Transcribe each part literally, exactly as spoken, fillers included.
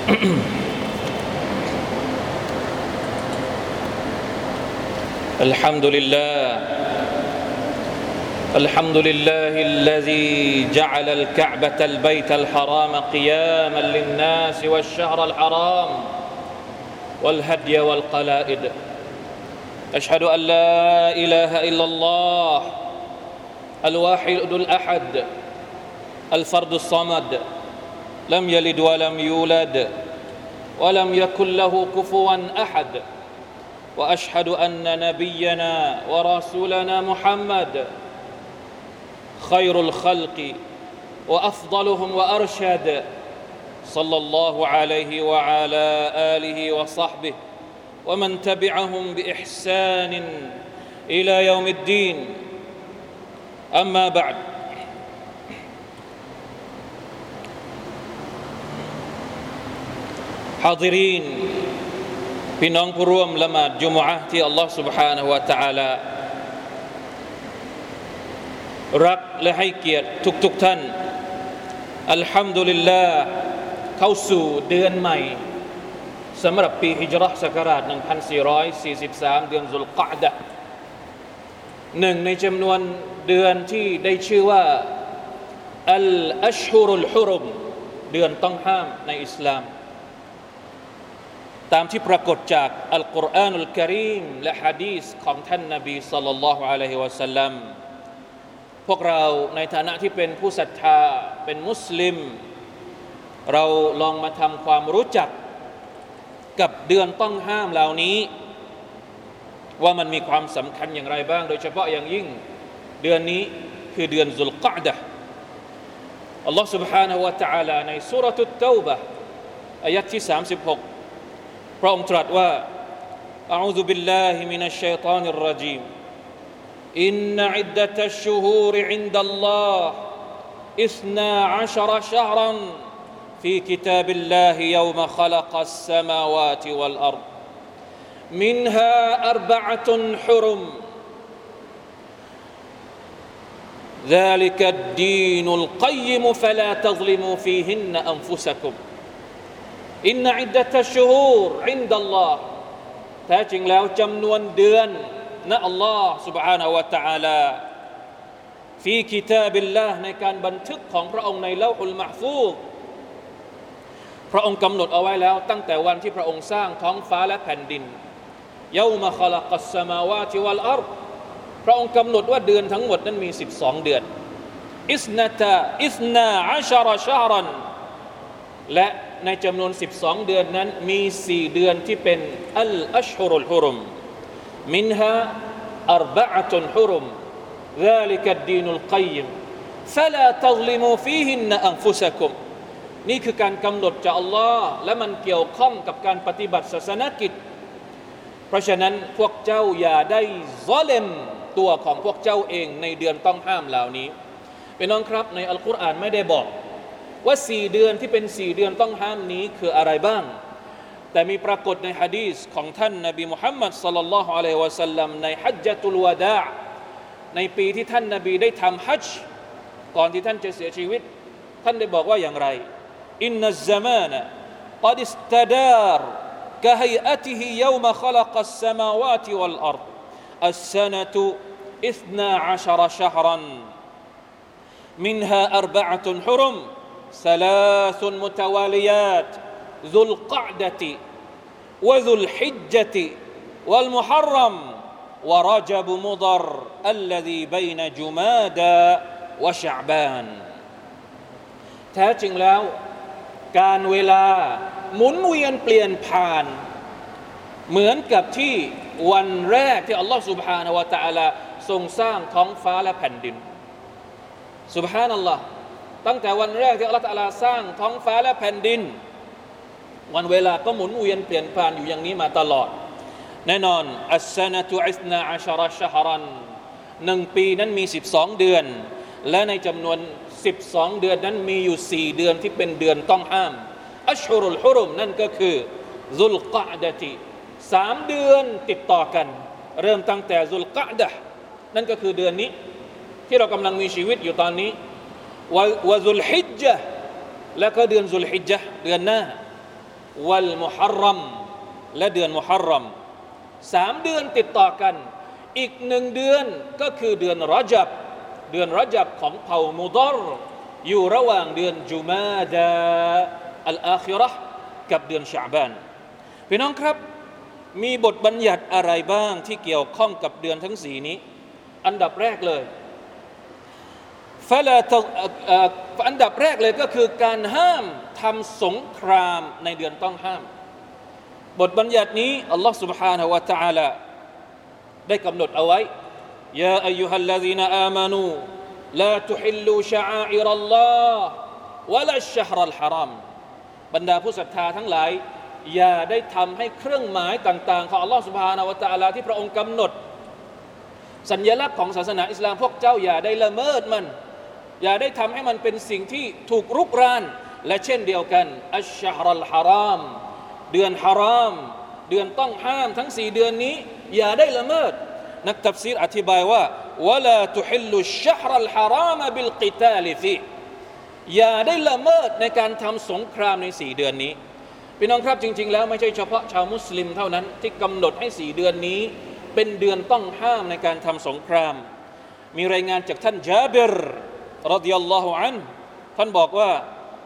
الحمد لله الحمد لله الذي جعل الكعبة البيت الحرام قياما للناس والشهر الحرام والهدي والقلائد أشهد أن لا إله إلا الله الواحد الأحد الفرد الصمد لم يلد ولم يولد ولم يكن له كفوا أحد وأشهد أن نبينا ورسولنا محمد خير الخلق وأفضلهم وأرشد صلى الله عليه وعلى آله وصحبه ومن تبعهم بإحسان إلى يوم الدين أما بعد حاضرين พี่น้องผู้ร่วมละหมาดจุมอะห์ที่อัลลอฮฺ سبحانه และ تعالى รักและให้เกียรติทุกๆท่านอัลฮัมดุลิลลาห์เข้าสู่เดือนใหม่สำหรับปีฮิจเราะห์ศักราชหนึ่งพันสี่ร้อยสี่สิบสามเดือนซุลกออดะห์หนึ่งในจำนวนเดือนที่ได้ชื่อว่าอัลอัชฮุรุลฮุรุมเดือนต้องห้ามในอิสลามตามที่ปรากฏจากอัลกุรอานุลกะรีมและหะดีษของท่านนบีศ็อลลัลลอฮุอะลัยฮิวะซัลลัมพวกเราในฐานะที่เป็นผู้ศรัทธาเป็นมุสลิมเราลองมาทำความรู้จักกับเดือนต้องห้ามเหล่านี้ว่ามันมีความสำคัญอย่างไรบ้างโดยเฉพาะอย่างยิ่งเดือนนี้คือเดือนซุลกออดะห์อัลลอฮฺ سبحانه และ تعالى ในซูเราะตุตเตาบะห์อายะห์ที่สามสิบหกพระองค์ตรัสว่าอะอูซุบิลลาฮิมินัชชัยฏอนิรเราะญีมอินนะอิดดะตัชชุฮูรอินดัลลอฮ์อิสนาอัชเราะชะฮรันฟีกิตาบิลลาฮิยอมะคอลักัสสมาวาติวัลอัรฎมินฮาอัรบะอะตุนฮุรุมذلك الدين القيم فلا تظلموا فيهن أنفسكمอินนะอิดดะตัชชุฮูรอินดัลลอฮ์แท้จริงแล้วจำนวนเดือนณอัลลอฮ์ سبحانه และ تعالى ฟีกิตาบิลลาห์ในการบันทึกของพระองค์ในเลาฮุลมะห์ฟูซพระองค์กำหนดเอาไว้แล้วตั้งแต่วันที่พระองค์สร้างท้องฟ้าและแผ่นดินยอมะคอลักัสสมาวาติวัลอัรฎพระองค์กำหนดว่าเดือนทั้งหมดนั้นมีสิบสองเดือนอิสนะตะอิสนาอัชเราะชะฮรันและในจำนวนสิบสองเดือนนั้นมีสี่เดือนที่เป็นอัลอัชฮุรุลฮุรุมมินฮาอัรบะอะตุนฮุรุม ذلك الدين القيم فلا تظلموا فيهن أنفسكم นี่คือการกำหนดจากอัลลอฮ์และมันเกี่ยวข้องกับการปฏิบัติศาสนกิจเพราะฉะนั้นพวกเจ้าอย่าได้ซอเลมตัวของพวกเจ้าเองในเดือนต้องห้ามเหล่านี้พี่น้องครับในอัลกุรอานไม่ได้บอกว่าสี่เดือนที่เป็นสี่เดือนต้องห้ามนี้คืออะไรบ้างแต่มีปรากฏในหะดีษของท่านนบีมุฮัมมัดศ็อลลัลลอฮุอะลัยฮิวะซัลลัมในฮัจญะตุลวะดาอ์ในปีที่ท่านนบีได้ทำฮัจญ์ก่อนที่ท่านจะเสียชีวิตท่านได้บอกว่าอย่างไรอินนัซซะมานะกัดอิสตะดารกะฮัยอะติฮิยอมะคอลักัสสมาวาติวัลอัรฎอัสซะนะตุอิสนาอัชเราะชะฮรันมินฮาอัรบะอะตุนฮุรุมثلاث متواليات ذو القعدة وذو الحجة والمحرم ورجب مضر الذي بين جمادى وشعبان แท้จริงแล้วการเวลาหมุนเวียนเปลี่ยนผ่านเหมือนกับที่วันแรกที่อัลลอฮฺ سبحانه และ تعالى ทรงสร้างท้องฟ้าและแผ่นดิน سبحان اللهตั้งแต่วันแรกที่อัลเลาะห์ตะอาลาสร้างท้องฟ้าและแผ่นดินวันเวลาก็หมุนเวียนเปลี่ยนผ่านอยู่อย่างนี้มาตลอดแน่นอนอัสซะนะตุอิสนาอัชเราะชะฮรันหนึ่งปีนั้นมีสิบสองเดือนและในจำนวนสิบสองเดือนนั้นมีอยู่สี่เดือนที่เป็นเดือนต้องห้ามอัชฮุรุลฮุรุมนั่นก็คือซุลกออดะติสามเดือนติดต่อกันเริ่มตั้งแต่ซุลกออดะห์นั่นก็คือเดือนนี้ที่เรากำลังมีชีวิตอยู่ตอนนี้วะซุลฮิจญะห์และก็เดือนซุลฮิจญะห์เดือนหน้าวัลมุฮัรรัมและเดือนมุฮัรรัมสามเดือนติดต่อกันอีกหนึ่งเดือนก็คือเดือนรอญับเดือนรอญับของเผ่ามุฎอรอยู่ระหว่างเดือนจุมาดาอัลอาคิเราะห์กับเดือนชะอ์บานพี่น้องครับมีบทบัญญัติอะไรบ้างที่เกี่ยวข้องกับเดือนทั้งสี่นี้อันดับแรกเลยฟะลาอันดับแรกเลยก็คือการห้ามทำสงครามในเดือนต้องห้ามบทบัญญัตินี้อัลลอฮฺ سبحانه และ تعالى ได้กำหนดเอาไว้ยาอัยยูฮัลลซีนอามานูลาตุฮิลลูชะอาอิรัลลอฮ์วะลาอัชชะฮรัลฮะรอมบรรดาผู้ศรัทธาทั้งหลายอย่าได้ทำให้เครื่องหมายต่างๆของอัลลอฮฺ سبحانه และ تعالى ที่พระองค์กำหนดสัญลักษณ์ของศาสนาอิสลามพวกเจ้าอย่าได้ละเมิดมันอย่าได้ทำให้มันเป็นสิ่งที่ถูกรุกรานและเช่นเดียวกันอัชชะฮรัลฮะรอมเดือนฮารอมเดือนต้องห้ามทั้งสี่เดือนนี้อย่าได้ละเมิดนักตัฟซีรอธิบายว่าวะลาตุฮิลลุชชะฮรัลฮารอมบิลกิตาลฟีอย่าได้ละเมิดในการทำสงครามในสี่เดือนนี้พี่น้องครับจริงๆแล้วไม่ใช่เฉพาะชาวมุสลิมเท่านั้นที่กำหนดให้สี่เดือนนี้เป็นเดือนต้องห้ามในการทำสงครามมีรายงานจากท่านญาบิรรอฎิยัลลอฮุอันฮุท่านบอกว่า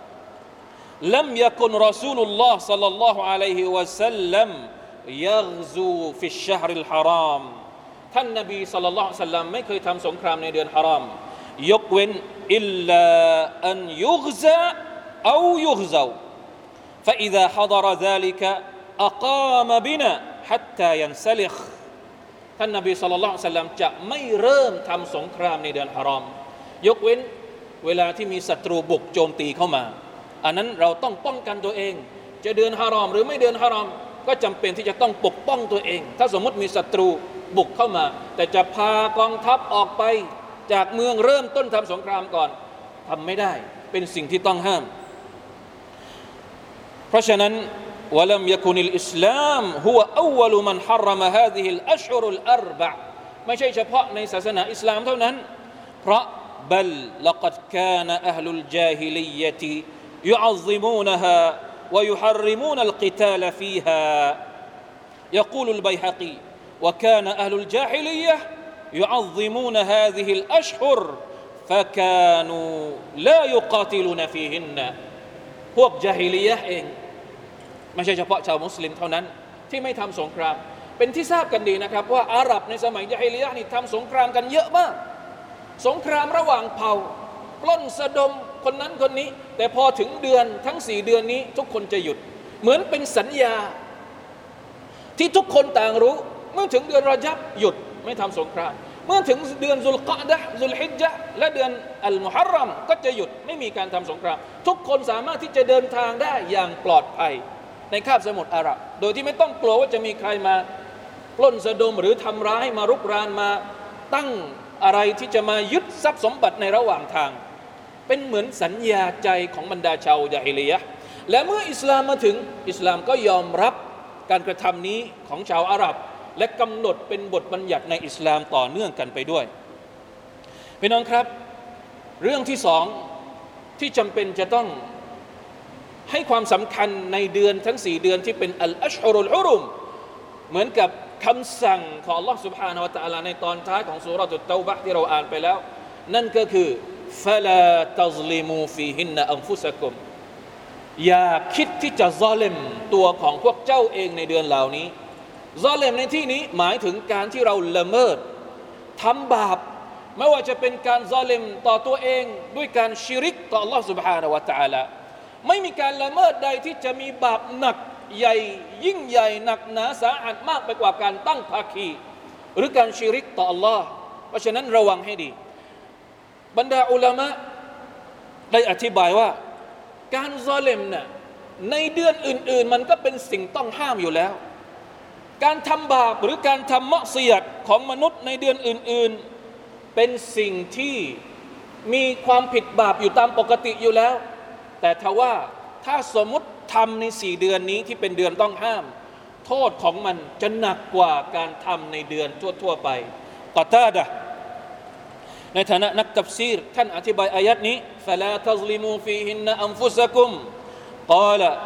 لم يكن رسول الله صلى الله عليه وسلم يغزو في الشهر الحرام ท่านนบีศ็อลลัลลอฮุอะลัยฮิวะซัลลัมไม่เคยทำสงครามในเดือนฮารอมยกเว้นอิลลาอันยุฆซะเอายุฆซา فإذا حضر ذلك أقام بنا حتى ينسلخ ท่านนบีศ็อลลัลลอฮุอะลัยฮิวะซัลลัมจะไม่เริ่มทำสงครามในเดือนฮารอมยกเว้นเวลาที่มีศัตรูบุกโจมตีเข้ามาอันนั้นเราต้องป้องกันตัวเองจะเดือนฮารอมหรือไม่เดือนฮารอมก็จำเป็นที่จะต้องปกป้องตัวเองถ้าสมมติมีศัตรูบุกเข้ามาแต่จะพากองทัพออกไปจากเมืองเริ่มต้นทำสงครามก่อนทำไม่ได้เป็นสิ่งที่ต้องห้ามเพราะฉะนั้นวะลัมยะกุนิลอิสลามฮุวะอัวลุมันฮะรรมะฮาซิฮิลอัชฮุรุลอัรบะอ์ไม่ใช่เฉพาะในศาสนาอิสลามเท่านั้นเพราะบัลละกัดกานะอะฮลุลญาฮิลิยะติيعظمونها ويحرمون القتال فيها يقول البيهقي وكان أهل الجاهلية يعظمون هذه الأشهر فكانوا لا يقاتلون فيهن พวกญาฮิลียะห์เองไม่ใช่เฉพาะชาวมุสลิมเท่านั้นที่ไม่ทำสงครามเป็นที่ทราบกันดีนะครับว่าอาหรับในสมัยญาฮิลียะห์นี่ทำสงครามกันเยอะมากสงครามระหว่างเผ่าปล้นสะดมคนนั้นคนนี้แต่พอถึงเดือนทั้งสี่เดือนนี้ทุกคนจะหยุดเหมือนเป็นสัญญาที่ทุกคนต่างรู้เมื่อถึงเดือนรอญับหยุดไม่ทำสงครามเมื่อถึงเดือนซุลกะดะห์ซุลฮิจญะห์และเดือนอัลมุฮัรรัมก็จะหยุดไม่มีการทำสงครามทุกคนสามารถที่จะเดินทางได้อย่างปลอดภัยในคาบสมุทรอาหรับโดยที่ไม่ต้องกลัวว่าจะมีใครมาปล้นสะดมหรือทำร้ายมารุกรานมาตั้งอะไรที่จะมายึดทรัพย์สมบัติในระหว่างทางเป็นเหมือนสัญญาใจของบรรดาชาวยาฮิลียะห์และเมื่ออิสลามมาถึงอิสลามก็ยอมรับการกระทำนี้ของชาวอาหรับและกำหนดเป็นบทบัญญัติในอิสลามต่อเนื่องกันไปด้วยพี่น้องครับเรื่องที่สองที่จำเป็นจะต้องให้ความสำคัญในเดือนทั้งสี่เดือนที่เป็นอัลอัชฮุรุลฮุรุมเหมือนกับคำสั่งของ Allah سبحانه และ تعالى ในตอนท้ายของซูเราะตุตเตาบะห์ที่เราอ่านไปแล้วนั่นก็คือفلا تظلموا فيهن أنفسكم อย่าคิดที่จะซอลิมตัวของพวกเจ้าเองในเดือนเหล่านี้ซอลิมในที่นี้หมายถึงการที่เราละเมิดทำบาปไม่ว่าจะเป็นการซอลิมต่อตัวเองด้วยการชิริกต่อ Allah سبحانه และ تعالى ไม่มีการละเมิดใดที่จะมีบาปหนักใหญ่ยิ่งใหญ่หนักหนาสาหัสมากไปกว่าการตั้งภาคีหรือการชิริกต่อ Allah เพราะฉะนั้นระวังให้ดีบรรดาอุลามะได้อธิบายว่าการซอลิมน่ะในเดือนอื่นๆมันก็เป็นสิ่งต้องห้ามอยู่แล้วการทำบาปหรือการทำมะซียะห์ของมนุษย์ในเดือนอื่นๆเป็นสิ่งที่มีความผิดบาปอยู่ตามปกติอยู่แล้วแต่ทว่าถ้าสมมติทำในสี่เดือนนี้ที่เป็นเดือนต้องห้ามโทษของมันจะหนักกว่าการทำในเดือนทั่วๆไปกอตาดะห์ในฐานะนักตัฟซีรท่านอธิบายอายัดนี้ فلا تظلموا فيهن أنفسكم قال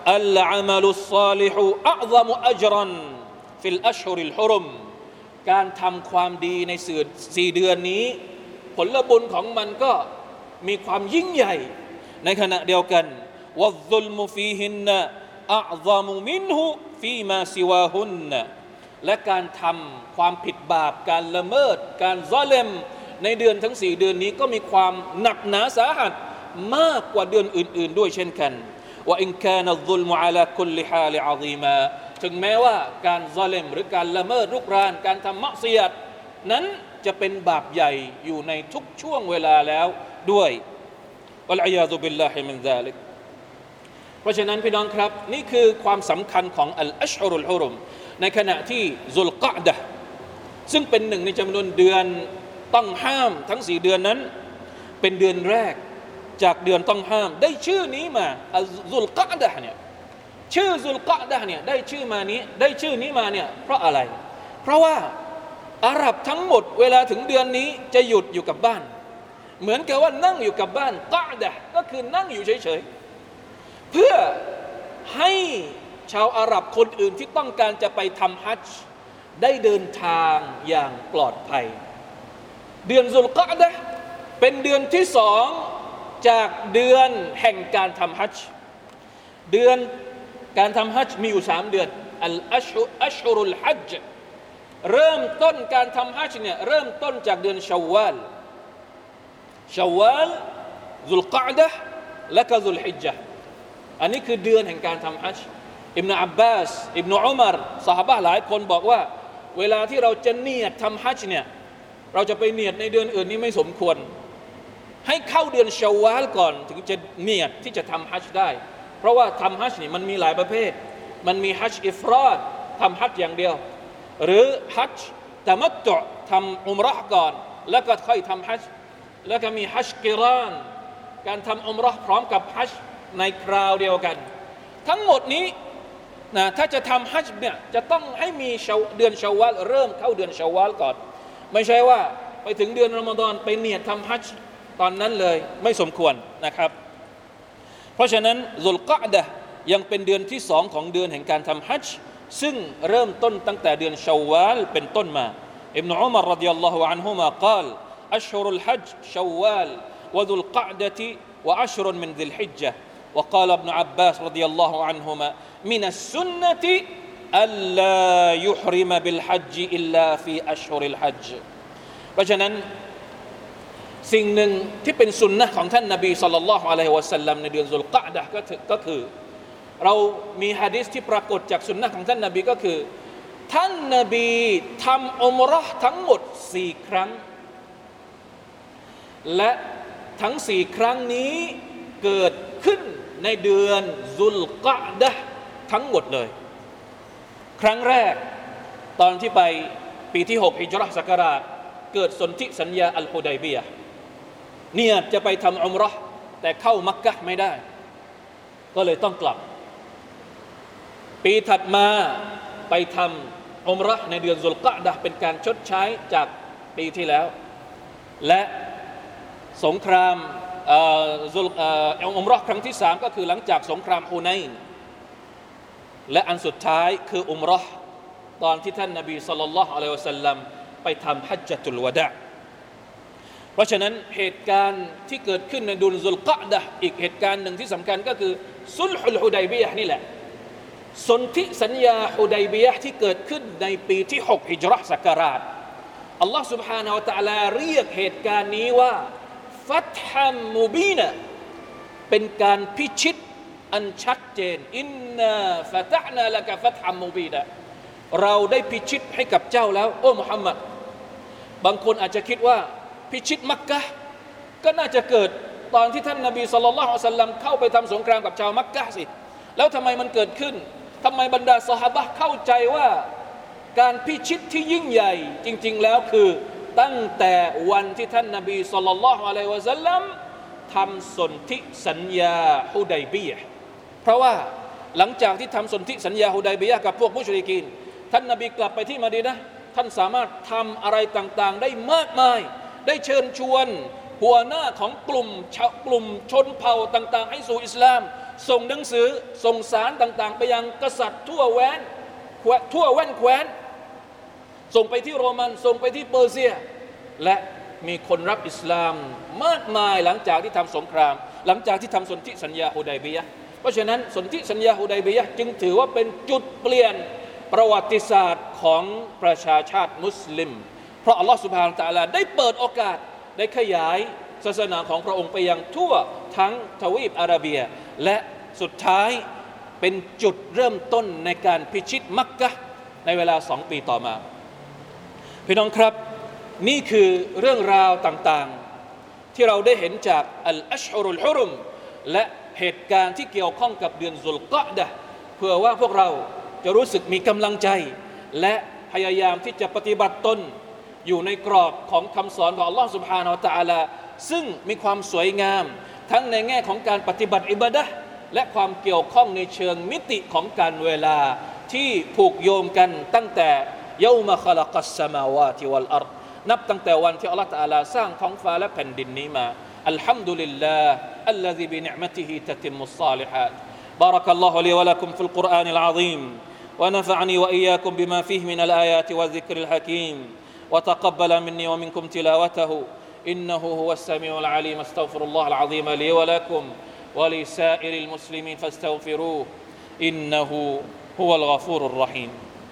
อัลอามัลุศศอลิฮุอัอฎอมุอัจรันฟิลอัชฮุริลฮุรุมการทำความดีในสี่เดือนนี้ผลบุญของมันก็มีความยิ่งใหญ่ในขณะเดียวกันวัซซุลมุฟีฮินนะอัอฎอมุมินฮุฟีมาซิวาฮุนนะและการทำความผิดบาปการละเมิดการซอเลมในเดือนทั้งสี่เดือนนี้ก็มีความหนักหนาสาหัสมากกว่าเดือนอื่นๆด้วยเช่นกันว่าอินกานัซซุลมุอะลาคุลลิฮาลิอะซีมาถึงแม้ว่าการซอเลมหรือการละเมิดรุกรานการทำมะซิยะฮ์นั้นจะเป็นบาปใหญ่อยู่ในทุกช่วงเวลาแล้วด้วยวัลอียาซุบิลลาฮิมินซาลิกเพราะฉะนั้นพี่น้องครับนี่คือความสำคัญของอัลอัชฮุรุลฮุรุมในขณะที่ซุลกออดะห์ซึ่งเป็นหนึ่งในจำนวนเดือนต้องห้ามทั้งสี่เดือนนั้นเป็นเดือนแรกจากเดือนต้องห้ามได้ชื่อนี้มาซุลกออดะห์เนี่ยชื่อซุลกออดะห์เนี่ยได้ชื่อมานี้ได้ชื่อนี้มาเนี่ยเพราะอะไรเพราะว่าอาหรับทั้งหมดเวลาถึงเดือนนี้จะหยุดอยู่กับบ้านเหมือนกับว่านั่งอยู่กับบ้านกออดะห์ก็คือนั่งอยู่เฉยๆเพื่อให้ชาวอาหรับคนอื่นที่ต้องการจะไปทำฮัจญ์ได้เดินทางอย่างปลอดภัยเดือนซุลกออดะห์เป็นเดือนที่สองจากเดือนแห่งการทำฮัจญ์เดือนการทำฮัจญ์มีอยู่สามเดือนอัลอัชฮุอัชฮุรุลฮัจญ์เริ่มต้นการทำฮัจญ์เนี่ยเริ่มต้นจากเดือนชาววาลชาววาลซุลกออดะห์และก็ซุลฮิจญะห์อันนี้คือเดือนแห่งการทำฮัจญ์อิบนุอับบาสอิบนุอุมัรซอฮาบะห์หลายคนบอกว่าเวลาที่เราจะเนียดทำฮัจญ์เนี่ยเราจะไปเนียดในเดือนอื่นนี่ไม่สมควรให้เข้าเดือนชาววาลก่อนถึงจะเนียดที่จะทำฮัจญ์ได้เพราะว่าทำฮัจญ์นี่มันมีหลายประเภทมันมีฮัจญ์อิฟรอดทำฮัจญ์อย่างเดียวหรือฮัจญ์ตะมัตตุอ์ทำอุมเราะห์ก่อนแล้วก็ค่อยทำฮัจญ์แล้วก็มีฮัจญ์กิรานการทำอุมเราะห์พร้อมกับฮัจญ์ในคราวเดียวกันทั้งหมดนี้นะถ้าจะทำฮัจญ์เนี่ยจะต้องให้มีเดือนชาววาลเริ่มเข้าเดือนชาววาลก่อนไม่ใช่ว่าไปถึงเดือนรอมฎอนไปเนียดทำฮัจญ์ตอนนั้นเลยไม่สมควรนะครับเพราะฉะนั้นซุลกออดะห์ยังเป็นเดือนที่สองของเดือนแห่งการทำฮัจญ์ซึ่งเริ่มต้นตั้งแต่เดือนชาววาลเป็นต้นมาอิบนุอุมัรรอฎิยัลลอฮุอันฮุมากล่าวอัชฮุรุลฮัจญ์ชาววาลวะซุลกออดะห์วะอัชรุมินซิลฮิจญะห์ وقال ابن عباس رضي الله عنهما من السنة ألا يحرم بالحج إلا في أشهر الحج เพราะฉะนั้นสิ่งหนึ่งที่เป็นสุนนะของท่านนบีศ็อลลัลลอฮุอะลัยฮิวะซัลลัมในเดือนซุลกออดะห์ก็ก็คือเรามีหะดีษที่ปรากฏจากสุนนะของท่านนบีก็คือท่านนบีทำอุมเราะห์ทั้งหมดสี่ครั้งและทั้งสี่ครั้งนี้เกิดขึ้นในเดือนซุลกออดะห์ทั้งหมดเลยครั้งแรกตอนที่ไปปีที่หกฮิจเราะห์ศักราชเกิดสนธิสัญญาอัลฮุดัยบียะห์เนี่ยจะไปทำอุมเราะห์แต่เข้ามักกะห์ไม่ได้ก็เลยต้องกลับปีถัดมาไปทำอุมเราะห์ในเดือนซุลกออดะห์เป็นการชดใช้จากปีที่แล้วและสงครามเอ่อซุลเอ่ออุมเราะห์ครั้งที่สามก็คือหลังจากสงครามฮุนัยน์และอันสุดท้ายคืออุมเราะห์ตอนที่ท่านนบีศ็อลลัลลอฮุอะลัยฮิวะซัลลัมไปทำฮัจญะตุลวะดะอ์เพราะฉะนั้นเหตุการณ์ที่เกิดขึ้นในเดือนซุลกออดะห์อีกเหตุการณ์หนึ่งที่สำคัญก็คือซุลฮุลฮุดัยบียะห์นี่แหละสนธิสัญญาฮุดัยบียะห์ที่เกิดขึ้นในปีที่หกฮิจเราะห์ศักราชอัลลอฮฺ سبحانه และ تعالى เรียกเหตุการณ์นี้ว่าฟัตฮัมมุบีนะเป็นการพิชิตอันชัดเจนอินนาฟะตะห์นาละกะฟัตฮัมมุบีนะเราได้พิชิตให้กับเจ้าแล้วโอ้มุฮัมมัดบางคนอาจจะคิดว่าพิชิตมักกะห์ก็น่าจะเกิดตอนที่ท่านนบีศ็อลลัลลอฮุอะลัยฮิวะซัลลัมเข้าไปทำสงครามกับชาวมักกะห์สิแล้วทำไมมันเกิดขึ้นทำไมบรรดาซอฮาบะห์เข้าใจว่าการพิชิตที่ยิ่งใหญ่จริงๆแล้วคือตั้งแต่วันที่ท่านนบีศ็อลลัลลอฮุอะลัยฮิวะซัลลัมทำสนธิสัญญาฮุดัยบียะห์เพราะว่าหลังจากที่ทำสนธิสัญญาฮุดัยบียะห์กับพวกมุชริกีนท่านนบีกลับไปที่มะดีนะห์ท่านสามารถทำอะไรต่างๆได้มากมายได้เชิญชวนหัวหน้าของกลุ่มกลุ่มชนเผ่าต่างๆให้สู่อิสลามส่งหนังสือส่งสารต่างๆไปยังกษัตริย์ทั่วแว้นทั่วแว่นแคว้นส่งไปที่โรมันส่งไปที่เปอร์เซียและมีคนรับอิสลามมากมายหลังจากที่ทำสงครามหลังจากที่ทำสนธิสัญญาฮุดัยบียะห์เพราะฉะนั้นสนธิสัญญาฮุดัยบียะห์จึงถือว่าเป็นจุดเปลี่ยนประวัติศาสตร์ของประชาชาติมุสลิมเพราะอัลลอฮฺซุบฮานะฮูวะตะอาลาได้เปิดโอกาสได้ขยายศาสนาของพระองค์ไปยังทั่วทั้งทวีปอาระเบียและสุดท้ายเป็นจุดเริ่มต้นในการพิชิตมักกะฮ์ในเวลาสองปีต่อมาพี่น้องครับนี่คือเรื่องราวต่างๆที่เราได้เห็นจากอัลอัชฮุรุลฮุรุมและเหตุการณ์ที่เกี่ยวข้องกับเดือนซุลกออดะห์เพื่อว่าพวกเราจะรู้สึกมีกำลังใจและพยายามที่จะปฏิบัติตนอยู่ในกรอบของคำสอนของอัลลอฮฺ سبحانه และ تعالى ซึ่งมีความสวยงามทั้งในแง่ของการปฏิบัติอิบาดะห์และความเกี่ยวข้องในเชิงมิติของการเวลาที่ผูกโยงกันตั้งแต่ยอมะคอลักัสสมาวาติวัลอัรฎ์นับตั้งแต่วันที่อัลลอฮฺ تعالى สร้างท้องฟ้าและแผ่นดินนี้มาอัลฮัมดุลิลลาห์อัลลซีบินิอ์มะติฮิตะติมุศศอลิฮาตบารักัลลอฮุลีวะละกุมฟิลกุรอานิลอะซีมونفعني وإياكم بما فيه من الآيات والذكر الحكيم وتقبل مني ومنكم تلاوته إنه هو السميع العليم استغفر الله العظيم لي ولكم ولسائر المسلمين فاستغفروه إنه هو الغفور الرحيم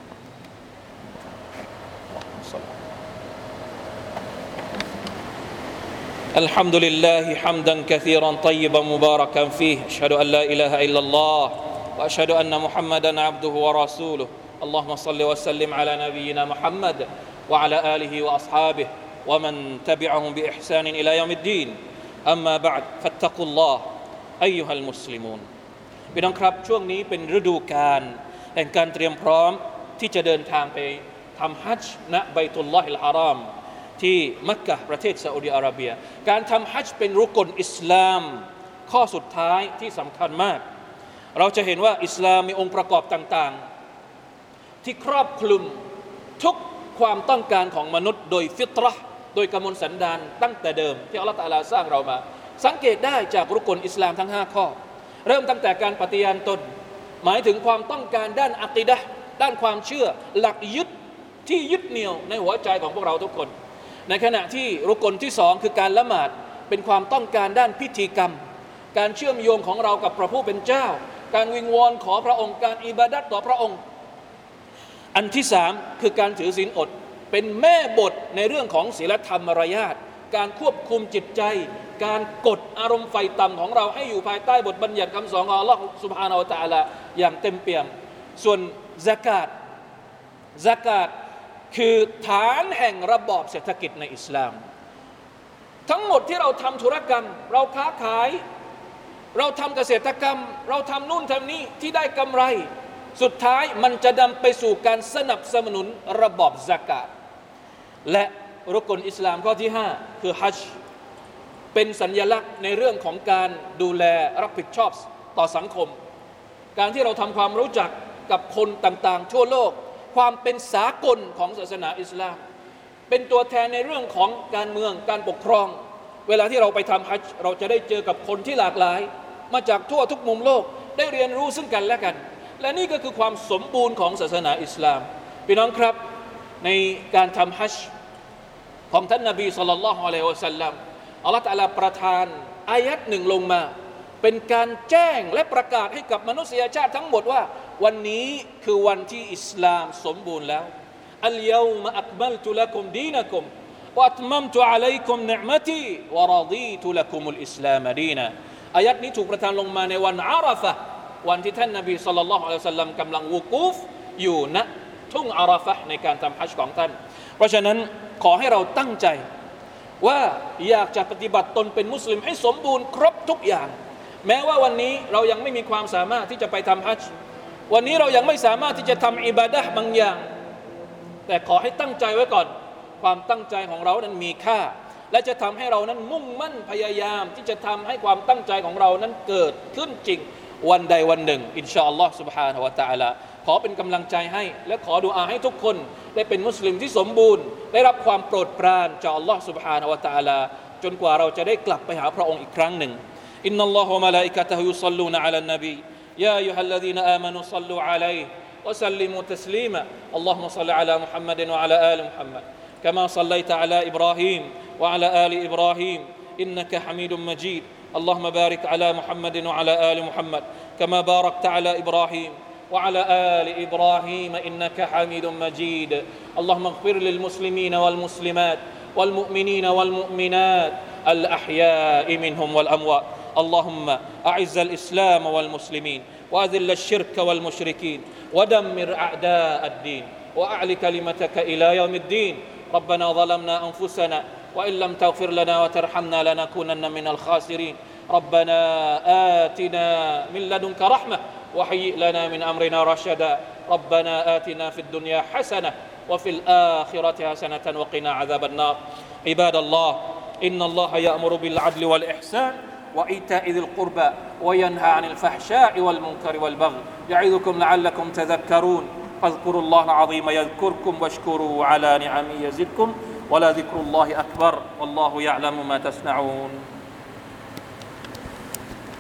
الحمد لله حمدا كثيرا طيبا مباركا فيه أشهد أن لا إله إلا الله وأشهد أن محمدا عبده ورسوله اللهم صل وسلم على نبينا محمد وعلى آله وأصحابه ومن تبعهم بإحسان إلى يوم الدين أما بعد فاتقوا الله أيها المسلمون พี่น้องครับช่วงนี้เป็นฤดูกาลแห่งการเตรียมพร้อมที่จะเดินทางไปทำฮัจญ์ณบัยตุลลอฮิลฮารอมที่มักกะฮ์ประเทศซาอุดิอาระเบียการทำฮัจญ์เป็นรุกนอิสลามข้อสุดท้ายที่สำคัญมากเราจะเห็นว่าอิสลามมีองค์ประกอบต่างๆที่ครอบคลุมทุกความต้องการของมนุษย์โดยฟิตเราะห์โดยกมลสันดานตั้งแต่เดิมที่อัลเลาะห์ตะอาลาสร้างเรามาสังเกตได้จากรุกนอิสลามทั้งห้าข้อเริ่มตั้งแต่การปฏิญาณตนหมายถึงความต้องการด้านอะกีดะห์ด้านความเชื่อหลักยึดที่ยึดเหนี่ยวในหัวใจของพวกเราทุกคนในขณะที่รุกนที่สองคือการละหมาดเป็นความต้องการด้านพิธีกรรมการเชื่อมโยงของเรากับพระผู้เป็นเจ้าการวิงวอนขอพระองค์การอิบาดัตต่อพระองค์อันที่สามคือการถือศีลอดเป็นแม่บทในเรื่องของศีลธรรมมารยาทการควบคุมจิตใจการกดอารมณ์ไฟต่ำของเราให้อยู่ภายใต้บทบัญญัติคำสอนของอัลลอฮฺซุบฮานะฮูวะตะอาลาอย่างเต็มเปี่ยมส่วนซะกาตซะกาตคือฐานแห่งระบอบเศรษฐกิจในอิสลามทั้งหมดที่เราทำธุรกรรมเราค้าขายเราทำเกษตรกรรมเราทำนู่นทำนี่ที่ได้กำไรสุดท้ายมันจะนำไปสู่การสนับสนุนระบอบซะกาตและรุกนอิสลามข้อที่ห้าคือฮัจญ์เป็นสัญลักษณ์ในเรื่องของการดูแลรับผิดชอบต่อสังคมการที่เราทำความรู้จักกับคนต่างๆทั่วโลกความเป็นสากลของศาสนาอิสลามเป็นตัวแทนในเรื่องของการเมืองการปกครองเวลาที่เราไปทำฮัจญ์เราจะได้เจอกับคนที่หลากหลายมาจากทั่วทุกมุมโลกได้เรียนรู้ซึ่งกันและกันและนี่ก็คือความสมบูรณ์ของศาสนาอิสลามพี่น้องครับในการทำฮัจญ์ของท่านนบีศ็อลลัลลอฮุอะลัยฮิวะซัลลัมอัลเลาะห์ตะอาลาประทานอายัดหนึ่งลงมาเป็นการแจ้งและประกาศให้กับมนุษยชาติทั้งหมดว่าวันนี้คือวันที่อิสลามสมบูรณ์แล้วอัลยอมะอักมัลตุละกุมดีนะกุมวะอัตมัมตุอะลัยกุมนิอ์มะตีวะรอฎีตุละกุมุลอิสลามดีนะอายัดนี้ถูกประทานลงมาในวันอาราฟะห์วันที่ท่านนบีศ็อลลัลลอฮุอะลัยฮิวะซัลลัมกำลังวุกูฟอยู่ณทุ่งอาราฟะห์ในการทำฮัจญ์ของท่านเพราะฉะนั้นขอให้เราตั้งใจว่าอยากจะปฏิบัติตนเป็นมุสลิมให้สมบูรณ์ครบทุกอย่างแม้ว่าวันนี้เรายังไม่มีความสามารถที่จะไปทำฮัจญ์วันนี้เรายังไม่สามารถที่จะทำอิบาดะห์บางอย่างแต่ขอให้ตั้งใจไว้ก่อนความตั้งใจของเรานั้นมีค่าและจะทำให้เรานั้นมุ่งมั่นพยายามที่จะทำให้ความตั้งใจของเรานั้นเกิดขึ้นจริงวันใดวันหนึ่งอินชาอัลลอฮ์ سبحانه และ تعالى ขอเป็นกำลังใจให้และขอดุอาให้ทุกคนได้เป็นมุสลิมที่สมบูรณ์ได้รับความโปรดปรานจากอัลลอฮ์ سبحانه และ تعالى จนกว่าเราจะได้กลับไปหาพระองค์อีกครั้งหนึ่งอินนัลลอฮฺวะมะลาอิกะตะฮุยุศ็อลลูนะอะลันนบียาอัยยูฮัลลซีนอามานูศ็อลลูอะลัยฮิวะซัลลิมูตัสลีมาอัลลอฮุมะศ็อลลิอะลามุฮัมมัดวะอะลาอาลิมุฮัมมัดกะมาศ็อลลัยตะอะลาอิบรอฮีมวะอะลาอาลิอิบรอฮีมอินนะกะฮะมีดุมมะญีดاللهم بارك على محمد وعلى آل محمد كما باركت على إبراهيم وعلى آل إبراهيم إنك حميد مجيد اللهم اغفر للمسلمين والمسلمات والمؤمنين والمؤمنات الأحياء منهم والأموات اللهم أعز الإسلام والمسلمين وأذل الشرك والمشركين ودمر أعداء الدين وأعل كلمتك إلى يوم الدين ربنا ظلمنا أنفسنا وإن لم تغفر لنا وترحمنا لنكونن من الخاسرين ربنا آتنا من لدنك رحمة وهيئ لنا من أمرنا رشدا ربنا آتنا في الدنيا حسنة وفي الآخرة حسنة وقنا عذاب النار عباد الله إن الله يأمر بالعدل والإحسان وإيتاء ذي القربى وينهى عن الفحشاء والمنكر والبغي يعظكم لعلكم تذكرون فاذكروا الله العظيم يذكركم واشكروا على نعمه يزدكم ولذكر الله أكبر والله يعلم ما تصنعون